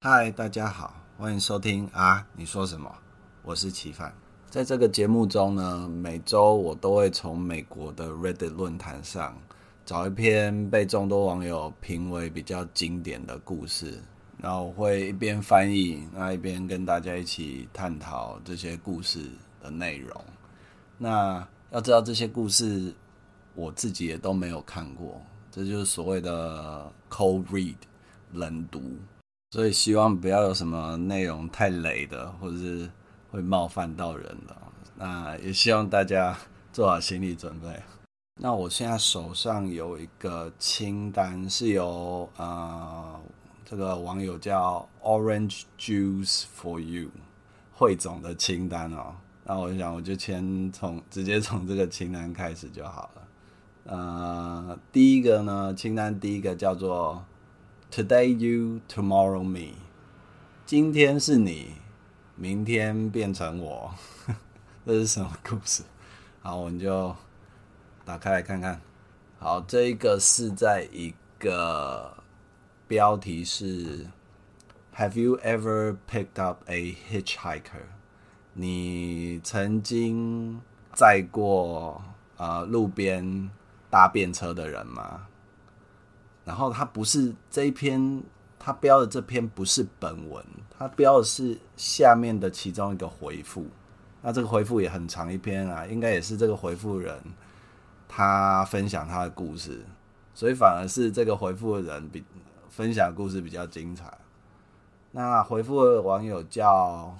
嗨，大家好，欢迎收听啊，你说什么？我是齐范。在这个节目中呢，每周我都会从美国的 Reddit 论坛上找一篇被众多网友评为比较经典的故事，然后我会一边翻译，一边跟大家一起探讨这些故事的内容。那要知道这些故事我自己也都没有看过，这就是所谓的 cold read 冷读。所以希望不要有什么内容太雷的，或者是会冒犯到人的。那也希望大家做好心理准备。那我现在手上有一个清单，是由这个网友叫 Orange Juice for You 汇总的清单哦。那我想我就直接从这个清单开始就好了。第一个呢，清单第一个叫做 Today you, tomorrow me。今天是你，明天变成我。这是什么故事？好，我们就打开来看看。好，这一个是在一个标题是 Have you ever picked up a hitchhiker？ 你曾经载过路边搭便车的人吗？然后它不是这一篇，它标的这篇不是本文，它标的是下面的其中一个回复。那这个回复也很长一篇啊，应该也是这个回复人他分享他的故事，所以反而是这个回复的人分享的故事比较精彩。那回复的网友叫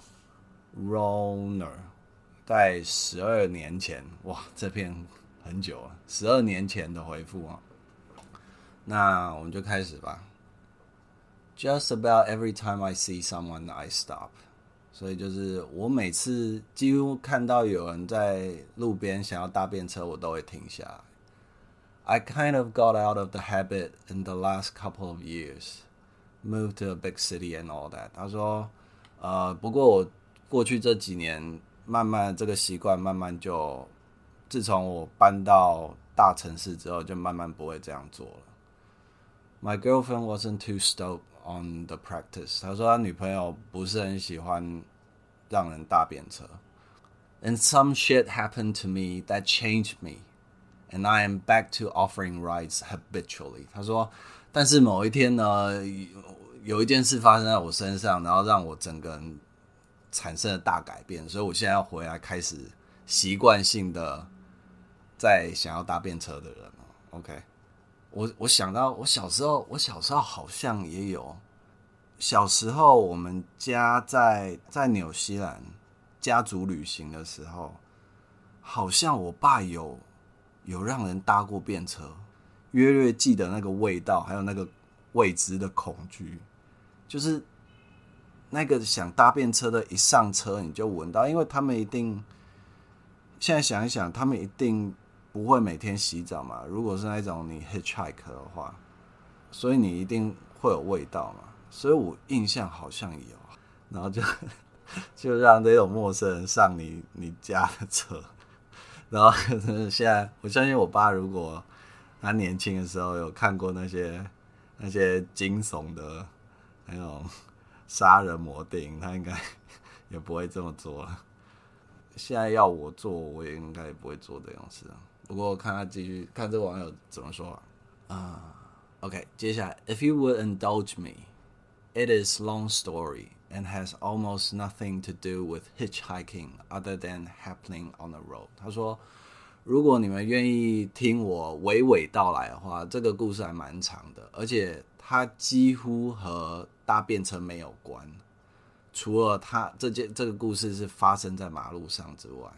Roner， 在12年前，哇，这篇很久了，12年前的回复啊。那我们就开始吧。Just about every time I see someone, I stop。所以就是我每次几乎看到有人在路边想要搭便车，我都会停下来。I kind of got out of the habit in the last couple of years, moved to a big city and all that。他说，不过我过去这几年，慢慢这个习惯慢慢就，自从我搬到大城市之后，就慢慢不会这样做了。My girlfriend wasn't too stoked on the practice。他说他女朋友不是很喜欢让人搭便车。And some shit happened to me that changed me, and I am back to offering rides habitually。他说，但是某一天呢，有一件事发生在我身上，然后让我整个人产生了大改变，所以我现在要回来开始习惯性的在想要搭便车的人。OK。我想到我小时候好像也有。小时候我们家在纽西兰家族旅行的时候，好像我爸有让人搭过便车，约略记得那个味道，还有那个未知的恐惧，就是那个想搭便车的一上车你就闻到，因为他们一定现在想一想，他们一定不会每天洗澡嘛，如果是那种你 hitchhike 的话，所以你一定会有味道嘛，所以我印象好像有，然后就让这种陌生人上你家的车，然后现在我相信我爸如果他年轻的时候有看过那些惊悚的那种杀人魔电影，他应该也不会这么做了。现在要我做，我也应该也不会做这种事。不过看他继续看这个网友怎么说OK， 接下来 If you would indulge me, it is long story and has almost nothing to do with hitchhiking other than happening on the road。他说，如果你们愿意听我娓娓道来的话，这个故事还蛮长的，而且它几乎和搭便车没有关。除了这个故事是发生在马路上之外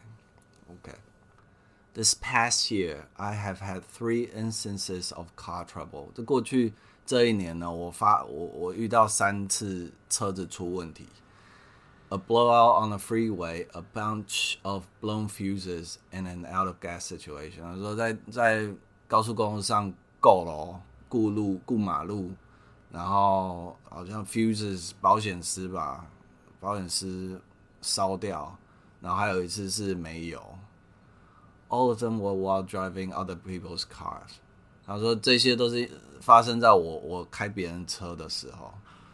，OK。This past year, I have had 3 instances of car trouble。过去这一年呢，我遇到3次车子出问题。A blowout on the freeway, a bunch of blown fuses, and an out of gas situation。他说在高速公路上够了，顾马路，然后好像 fuses 保险丝吧。保险丝烧掉，然后还有一次是没油。All of them were while driving other people's cars。他说这些都是发生在我开别人车的时候。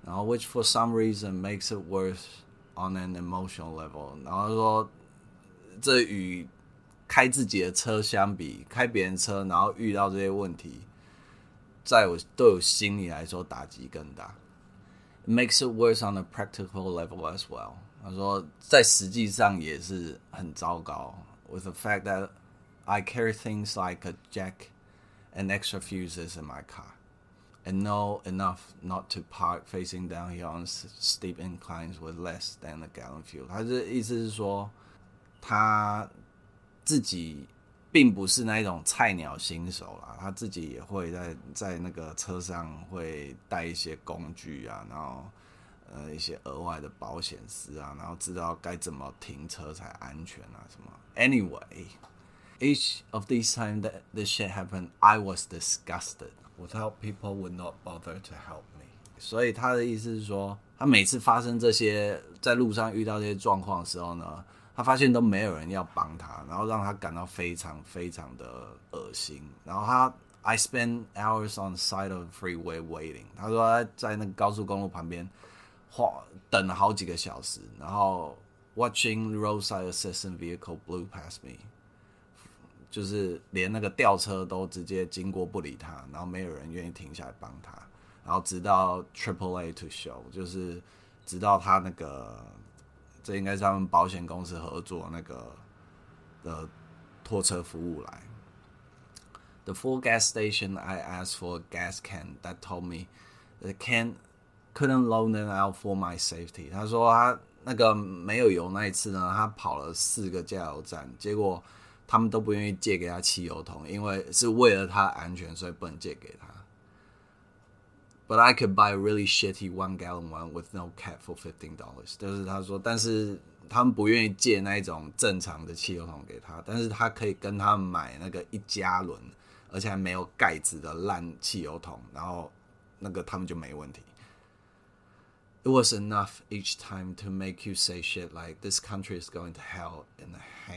然后 which for some reason makes it worse on an emotional level。然后说这与开自己的车相比，开别人车然后遇到这些问题，对我心里来说打击更大。It makes it worse on a practical level as well。他说在实际上也是很糟糕。With the fact that I carry things like a jack and extra fuses in my car, and know enough not to park facing downhill on steep inclines with less than a gallon fuel。他的意思是说，他自己并不是那一种菜鸟新手啦，他自己也会在那个车上会带一些工具啊，然后一些额外的保险丝啊，然后知道该怎么停车才安全啊什么。Anyway。Each of these times that this shit happened, I was disgusted. Without people would not bother to help me. 所以他的意思是说，他每次发生这些在路上遇到这些状况的时候呢，他发现都没有人要帮他，然后让他感到非常非常的恶心。然后I spend hours on the side of the freeway waiting. 他说他在那个高速公路旁边等了好几个小时，然后 watching roadside assistance vehicle blew past me。就是连那个吊车都直接经过不理他，然后没有人愿意停下来帮他，然后直到 AAA to show， 就是直到他那个这应该是他们保险公司合作那个的拖车服务来。The full gas station I asked for a gas can that told me the can couldn't loan it out for my safety。他说他那个没有油那一次呢，他跑了4个加油站，结果他们都不愿意借给他汽油桶，因为是为了他安全，所以不能借给他。But I could buy a really shitty 1-gallon one with no cap for $15。就是他说，但是他们不愿意借那一种正常的汽油桶给他，但是他可以跟他们买那个1加仑，而且还没有盖子的烂汽油桶，然后那个他们就没问题。It was enough each time to make you say shit like this country is going to hell in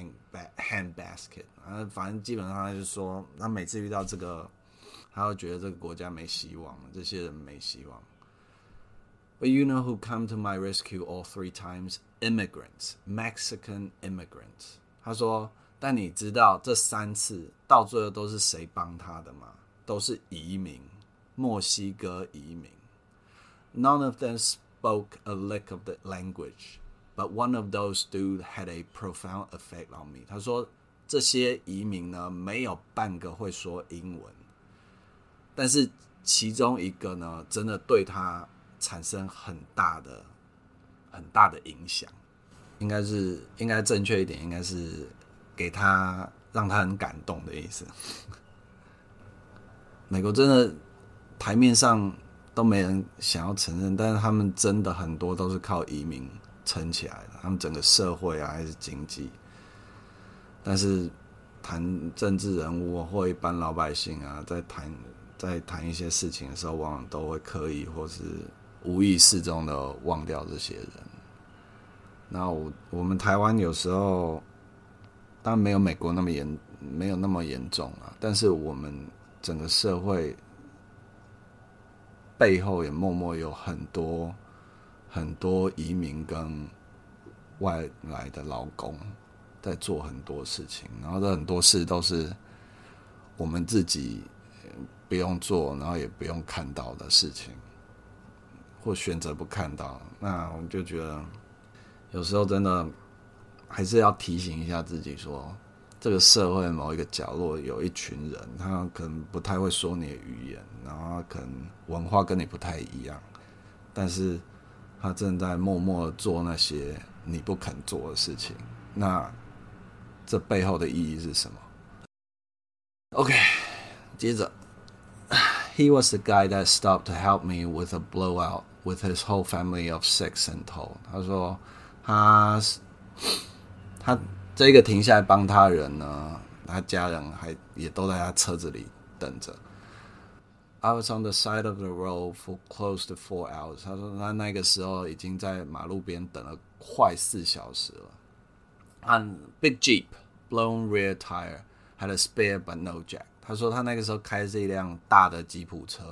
a handbasket。反正基本上他就说，他每次遇到这个，他会觉得这个国家没希望，这些人没希望。But you know who come to my rescue all 3 times? Immigrants, Mexican immigrants。他说，但你知道这3次到最后都是谁帮他的吗？都是移民，墨西哥移民。None of them spoke a lick of the language, but one of those dudes had a profound effect on me。 他说这些移民呢，没有半个会说英文，但是其中一个呢，真的对他产生很大的影响。应该正确一点，应该是让他很感动的意思。美国真的台面上都没人想要承认，但是他们真的很多都是靠移民撑起来的，他们整个社会啊还是经济。但是谈政治人物或一般老百姓啊，在谈一些事情的时候，往往都会刻意或是无意识中的忘掉这些人。那我们台湾有时候当然没有美国没有那么严重啊，但是我们整个社会背后也默默有很多移民跟外来的劳工在做很多事情，然后这很多事都是我们自己不用做，然后也不用看到的事情，或选择不看到。那我就觉得有时候真的还是要提醒一下自己说，这个社会某一个角落有一群人，他可能不太会说你的语言，然后他可能文化跟你不太一样，但是他正在默默地做那些你不肯做的事情。那这背后的意义是什么 ？OK， 接着 ，He was the guy that stopped to help me with a blowout with his whole family of 6 in tow。他说他这个停下来帮他的人呢，他家人也都在他车子里等着。I was on the side of the road for close to 4 hours。他说他那个时候已经在马路边等了快4小时了。And big Jeep, blown rear tire, had a spare but no jack。他说他那个时候开是一辆大的吉普车，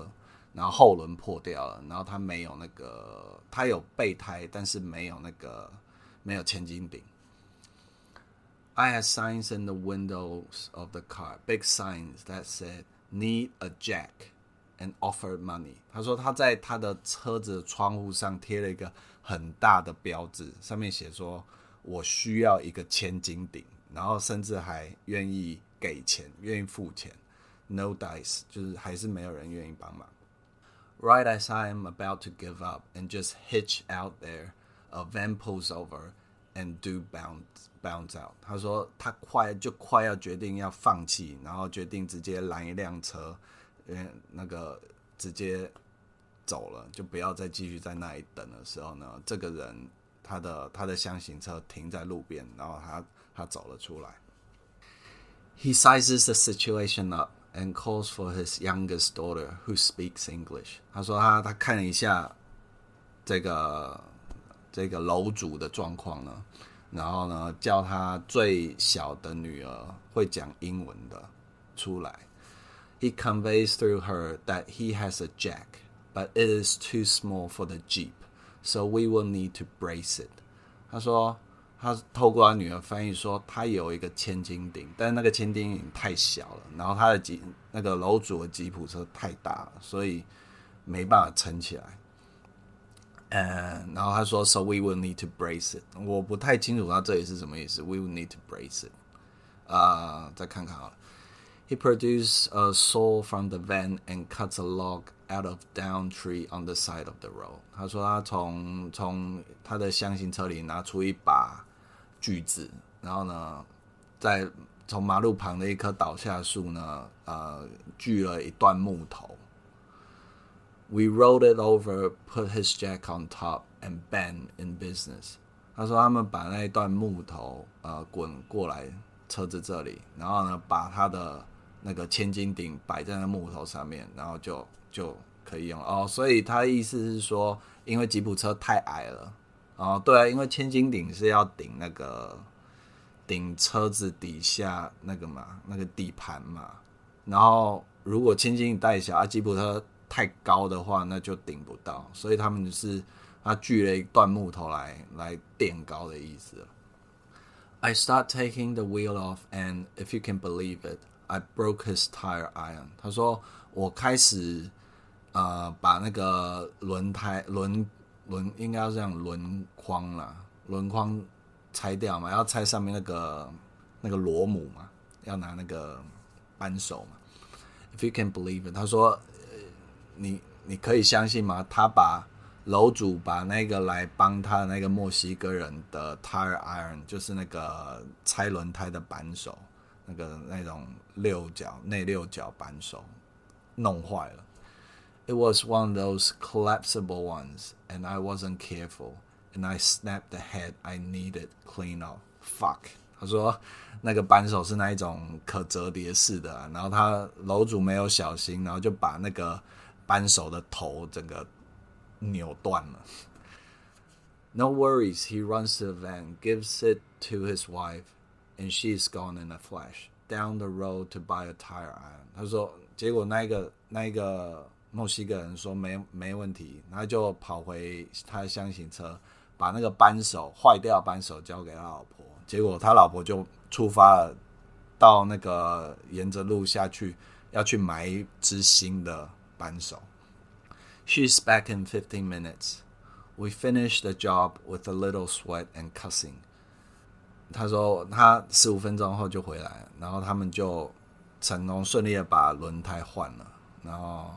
然后后轮破掉了，然后他没有他有备胎，但是没有千斤顶。I had signs in the windows of the car, big signs that said "Need a jack" and offered money. 他说他在他的车子的窗户上贴了一个很大的标志，上面写说我需要一个千斤顶，然后甚至还愿意给钱，愿意付钱。No dice， 就是还是没有人愿意帮忙。Right as I am about to give up and just hitch out there, a van pulls over and do bounce out. 他说他快要决定要放弃，然后决定直接拦一辆车，直接走了，就不要再继续在那里等的时候呢，这个人他的箱型车停在路边，然后他走了出来。He sizes the situation up and calls for his youngest daughter who speaks English. 他说他看了一下这个楼主的状况呢，然后呢叫他最小的女儿会讲英文的出来。He conveys through her that he has a jack, but it is too small for the Jeep, so we will need to brace it. 他说他透过他女儿翻译说他有一个千斤顶，但是那个千斤顶太小了，然后他的那个楼主的吉普车太大了，所以没办法撑起来。然后他说 So we will need to brace it. 我不太清楚他这里是什么意思 We will need to brace it. 再看看好了。He produced a saw from the van and cuts a log out of down tree on the side of the road. 他说他从他的箱型车里拿出一把锯子，然后呢，在从马路旁的一棵倒下树呢，锯了一段木头。We rolled it over, put his jack on top, and bang in business. 他说他们把那一段木头滚过来车子这里，然后呢把他的那个千斤顶摆在那木头上面，然后就可以用哦。所以他的意思是说，因为吉普车太矮了哦，对啊，因为千斤顶是要顶车子底下那个底盘嘛，然后如果千斤顶太小吉普车太高的话，那就顶不到，所以他们就是他锯了一段木头来垫高的意思。I start taking the wheel off, and if you can believe it, I broke his tire iron. 他说我开始把那个轮应该要这样轮框拆掉嘛，要拆上面那个螺母嘛，要拿那个扳手嘛。If you can believe it， 他说你可以相信吗？他楼主把那个来帮他的那个墨西哥人的 tire iron， 就是那个拆轮胎的扳手，那种内六角扳手弄坏了。It was one of those collapsible ones, and I wasn't careful, and I snapped the head I needed clean off. Fuck. 他说那个扳手是那一种可折叠式的，然后他楼主没有小心，然后就把那个扳手的头整个扭断了。No worries, he runs to the van, gives it to his wife, and she is gone in a flash, down the road to buy a tire iron. 他说结果那一个墨西哥人说没问题，他就跑回他的箱型车，把那个坏掉扳手交给他老婆，结果他老婆就出发了，到那个沿着路下去，要去买一支新的扳手。She's back in 15 minutes. We finished the job with a little sweat and cussing. 他说他15分钟后就回来了，然后他们就成功顺利的把轮胎换了，然后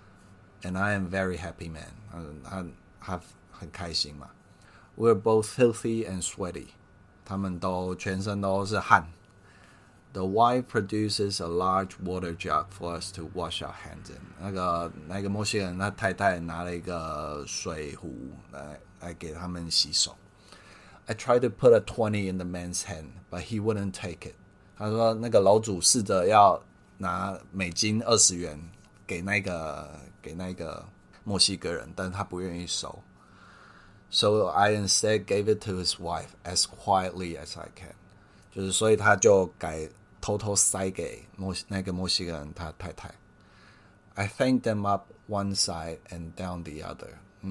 And I am very happy, man. 他很开心嘛。We're both filthy and sweaty. 他们都全身都是汗。The wife produces a large water jug for us to wash our hands in. 那个墨西哥人他太太拿了一个水壶来给他们洗手。I tried to put a 20 in the man's hand, but he wouldn't take it. 他说那个楼主试着要拿美金20元给那个墨西哥人，但是他不愿意收。So I instead gave it to his wife as quietly as I can. 就是所以他就偷偷塞给那个墨西哥人他太太。I thanked them up one side and down the other。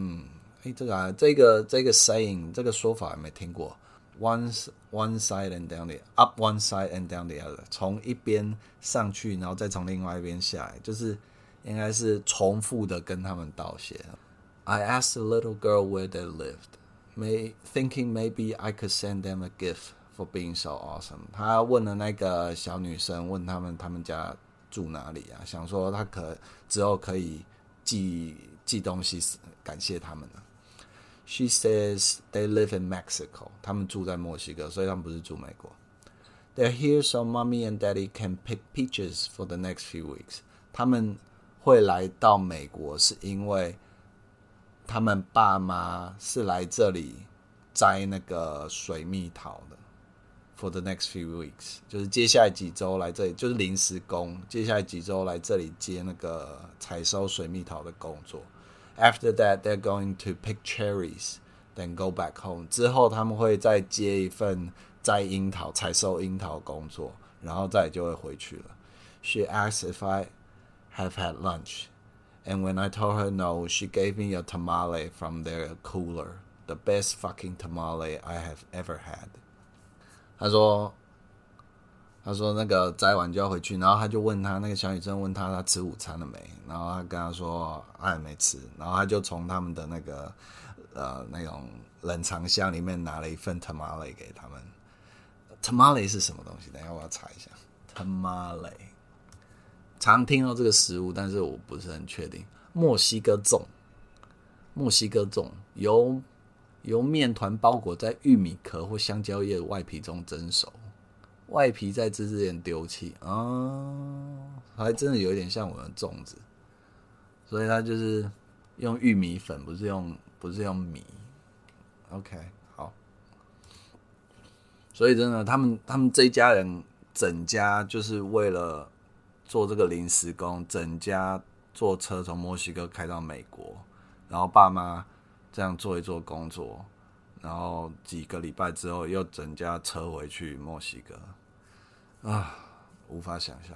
这个 saying 这个说法还没听过。one side and down the up one side and down the other， 从一边上去，然后再从另外一边下来，就是应该是重复的跟他们道谢。I asked the little girl where they lived, thinking maybe I could send them a gift for being so awesome。 他问了那个小女生，问他们家住哪里啊？想说他之后可以寄东西感谢他们。She says they live in Mexico， 他们住在墨西哥，所以他们不是住美国。They're here so mommy and daddy can pick peaches for the next few weeks。 他们会来到美国是因为他们爸妈是来这里摘那个水蜜桃的。For the next few weeks， 就是接下来几周来这里，就是临时工，接下来几周来这里接那个采收水蜜桃的工作。After that, they're going to pick cherries, then go back home。 之后他们会再接一份采收樱桃工作，然后再就会回去了。She asked if I have had lunch, and when I told her no, she gave me a tamale from their cooler, the best fucking tamale I have ever had。 他说那个摘完就要回去，然后他就问他那个小女生问他吃午餐了没，然后他跟他说他还没吃，然后他就从他们的那个那种冷藏箱里面拿了一份 tamale 给他们。tamale 是什么东西？等一下我要查一下。tamale 常听到这个食物，但是我不是很确定。墨西哥粽由面团包裹在玉米壳或香蕉叶的外皮中蒸熟，外皮在之前丢弃还真的有一点像我们的粽子，所以它就是用玉米粉，不是用米。OK， 好，所以真的，他们这一家人整家就是为了做这个临时工，整家坐车从墨西哥开到美国，然后爸妈这样做一做工作，然后几个礼拜之后又整家车回去墨西哥啊，无法想象。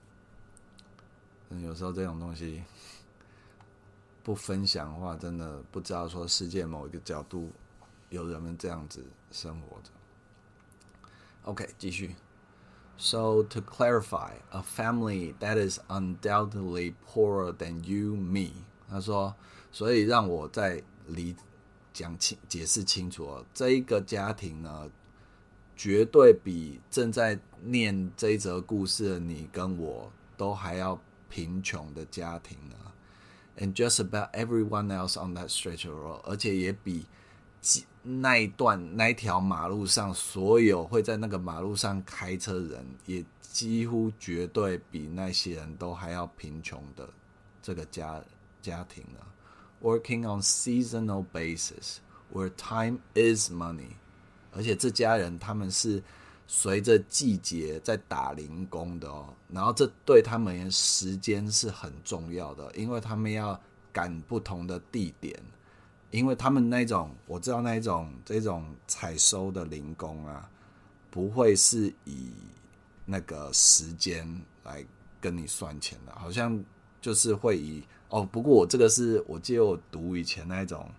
有时候这种东西不分享的话，真的不知道说世界某一个角度有人们这样子生活着。OK， 继续。So to clarify, a family that is undoubtedly poorer than you, me。 他说，所以让我再解释清楚哦，这一个家庭呢，绝对比正在念这一则故事的你跟我都还要贫穷的家庭呢。And just about everyone else on that stretch of road， 而且也比那一条马路上所有会在那个马路上开车人，也几乎绝对比那些人都还要贫穷的这个家庭呢。Working on seasonal basis, where time is money， 而且这家人他们是随着季节在打零工的哦，然后这对他们时间是很重要的，因为他们要赶不同的地点，因为他们那种我知道这种采收的零工啊，不会是以那个时间来跟你算钱的，好像就是会以不过这个是我记得我读以前那种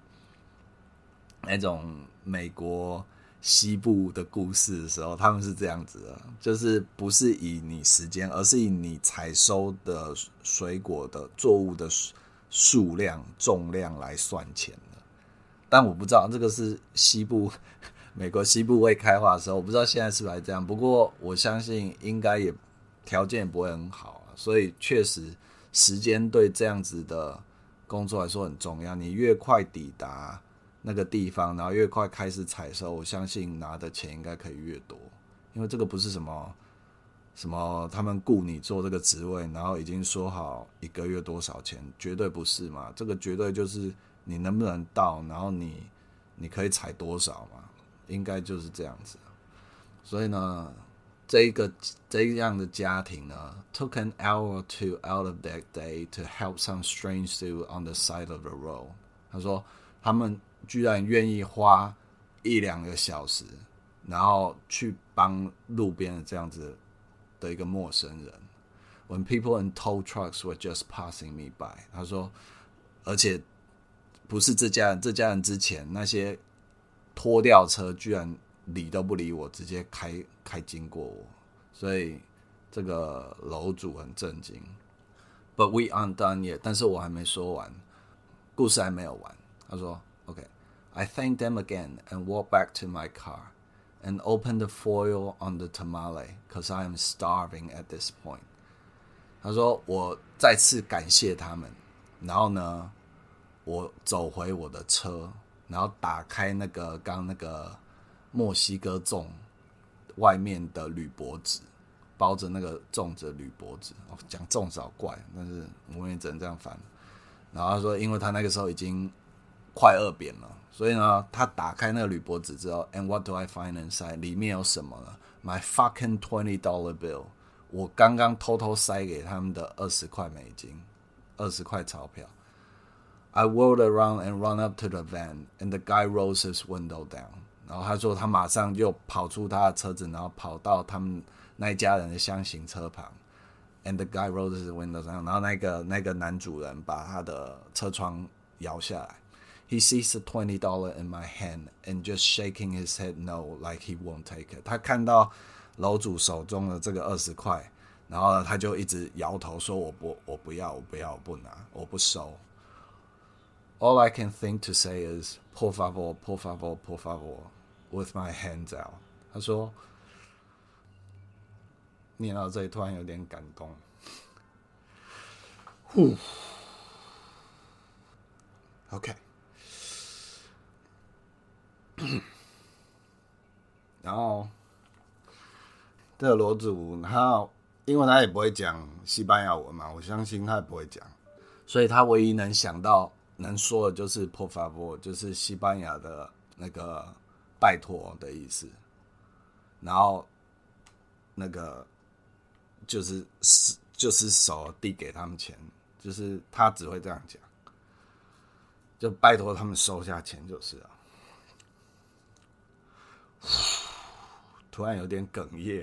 美国西部的故事的时候，他们是这样子的，就是不是以你时间，而是以你采收的水果的作物的数量重量来算钱的。但我不知道这个是美国西部未开化的时候，我不知道现在是不是还这样，不过我相信应该也条件也不会很好所以确实时间对这样子的工作来说很重要，你越快抵达那个地方，然后越快开始采收，我相信拿的钱应该可以越多，因为这个不是什么他们雇你做这个职位，然后已经说好一个月多少钱，绝对不是嘛，这个绝对就是你能不能到，然后你可以采多少嘛，应该就是这样子。所以呢，这样的家庭呢 took an hour or two out of their day to help some strange dude on the side of the road。 他说他们居然愿意花1-2个小时，然后去帮路边的这样子的一个陌生人。 when people in tow trucks were just passing me by。他说，而且不是这家人之前那些拖吊车居然理都不理我，直接开经过我，所以这个楼主很震惊。But we aren't done yet， 但是我还没说完，故事还没有完。他说 ，OK，I thanked them again and walked back to my car and opened the foil on the tamale because I am starving at this point。他说我再次感谢他们，然后呢，我走回我的车，然后打开刚那个墨西哥粽外面的铝箔纸，包着那个粽子的铝箔纸。讲粽子好怪，但是我们也只能这样翻。然后他说，因为他那个时候已经快饿扁了，所以呢，他打开那个铝箔纸之后 ，and what do I find inside？ 里面有什么呢 ？My fucking $20 bill。我刚刚偷偷塞给他们的20块美金，20块钞票。I whirled around and run up to the van, and the guy rolls his window down。然后他说他马上就跑出他的车子，然后跑到他们那一家人的箱型车旁。And the guy rolls his window down。然后那个男主人把他的车窗摇下来。He sees the $20 in my hand and just shaking his head no, like he won't take it。他看到楼主手中的这个20块，然后呢，他就一直摇头说：“我不要，我不拿，我不收。” All I can think to say is "por favor, por favor, por favor" with my hands out。他说，念到这里突然有点感动。OK。然后这个楼主他因为他也不会讲西班牙文嘛，我相信他也不会讲，所以他唯一能想到能说的就是 por favor， 就是西班牙的那个拜托的意思。然后那个就是手递给他们钱，就是他只会这样讲，就拜托他们收下钱就是了。突然有点哽咽，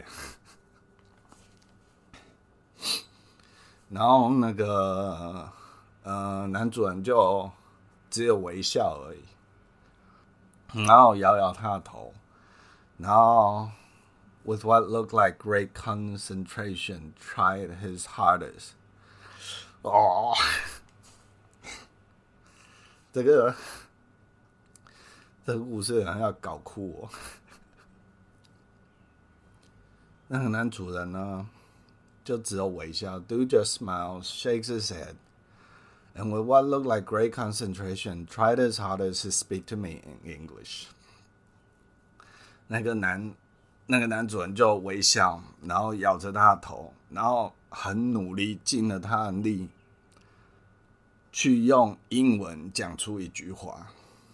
然后那个男主人就只有微笑而已，然后摇摇他的头，然后 with what looked like great concentration tried his hardest。哦，这个故事好像要搞哭我。那个男主人呢，就只有微笑 ，Dude just smiles, shakes his head, and with what looked like great concentration, tried his hardest to speak to me in English。那个男主人就微笑，然后摇着他的头，然后很努力，尽了他的力，去用英文讲出一句话。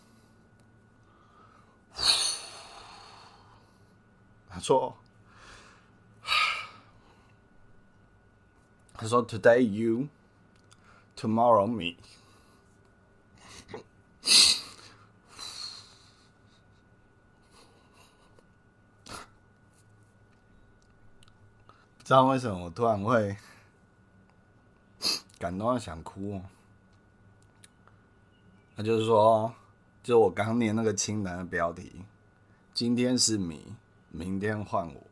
他说 Today you, tomorrow me。 不知道为什么我突然会感动到想哭。那就是说，就我刚念那个清单的标题，今天是你，明天换我。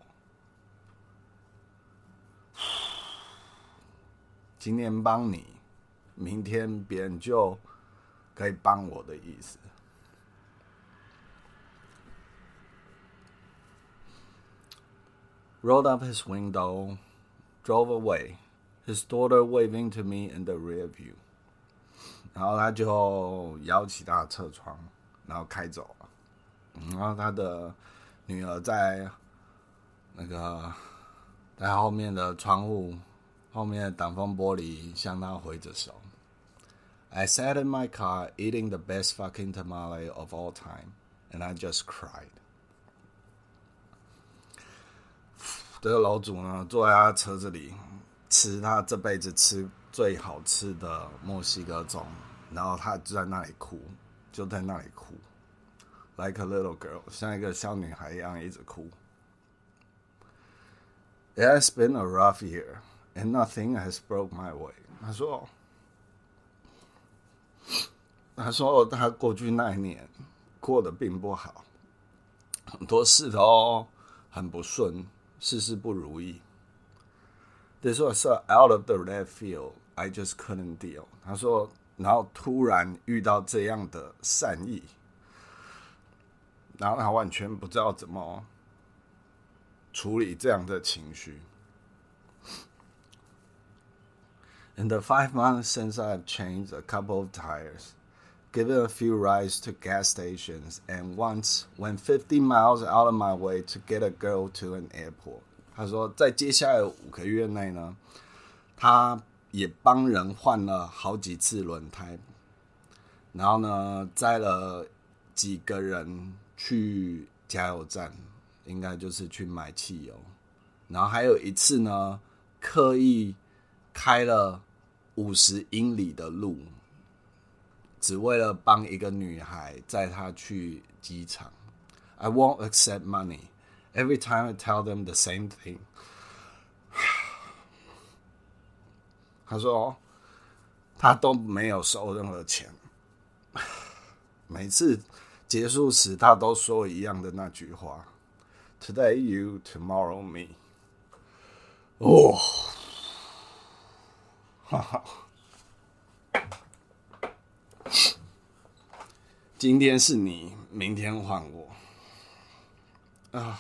今天帮你，明天别人就可以帮我的意思。Rolled up his window, drove away, his daughter waving to me in the rear view。 然后他就摇起他的车窗，然后开走了。然后他的女儿在后面的窗户后面的挡风玻璃向他挥着手。I sat in my car eating the best fucking tamale of all time, and I just cried。 这个楼主呢，坐在他车子里吃他这辈子吃最好吃的墨西哥粽，然后他就在那里哭，就在那里哭 ，like a little girl， 像一个小女孩一样一直哭。It has been a rough year. and nothing has broke my way。他说他过去那一年过得并不好，很多事都很不顺，事事不如意。This was so out of the left field, I just couldn't deal。他说，然后突然遇到这样的善意，然后他完全不知道怎么处理这样的情绪。In the 5 months since I've changed a couple of tires, given a few rides to gas stations, and once went 50 miles out of my way to get a girl to an airport。他说，在接下来5个月内呢，他也帮人换了好几次轮胎，然后呢，载了几个人去加油站，应该就是去买汽油。然后还有一次呢，刻意开了50英里的路，只为了帮一个女孩载她去机场。I won't accept money. Every time I tell them the same thing. 他说他都没有收任何钱，每次结束时他都说一样的那句话 ：Today you, tomorrow me。哦，哈哈。今天是你，明天换我啊！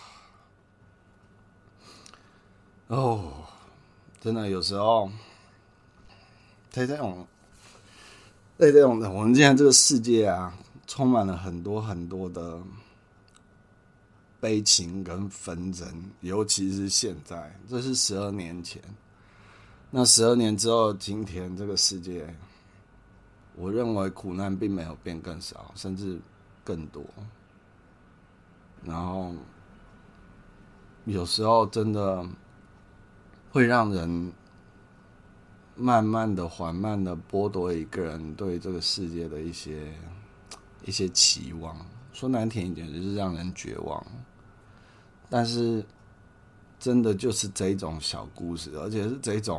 哦，真的有时候，在这种我们现在这个世界啊，充满了很多很多的悲情跟纷争，尤其是现在，这是12年前。那12年之后，今天这个世界，我认为苦难并没有变更少，甚至更多。然后有时候真的会让人慢慢的、缓慢的剥夺一个人对这个世界的一些期望。说难听一点，就是让人绝望。但是真的就是这种小故事，而且是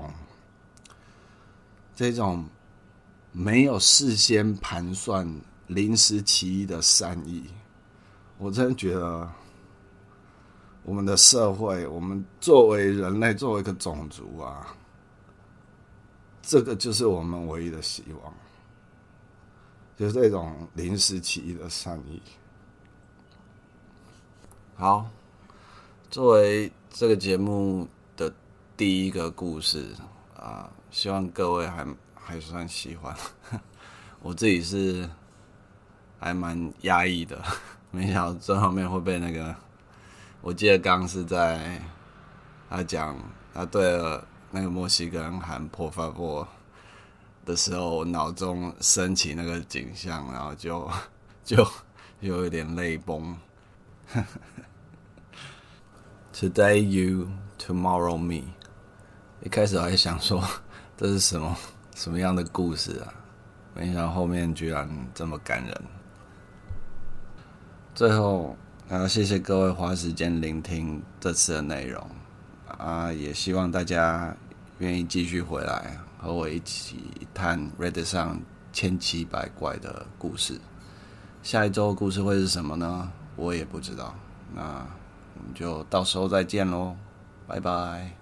这种没有事先盘算、临时起意的善意，我真的觉得我们的社会，我们作为人类，作为一个种族啊，这个就是我们唯一的希望，就是这种临时起意的善意。好，作为这个节目的第一个故事啊，希望各位还算喜欢。我自己是还蛮压抑的，没想到最后面会被那个，我记得刚刚是在他讲他对了那个墨西哥人喊por favor的时候，我脑中升起那个景象，然后就有点泪崩。Today you, tomorrow me。一开始我还想说这是什么样的故事啊？没想到后面居然这么感人。最后，谢谢各位花时间聆听这次的内容啊，也希望大家愿意继续回来和我一起探 Reddit 上1700怪的故事。下一周的故事会是什么呢？我也不知道。那我们就到时候再见咯，拜拜。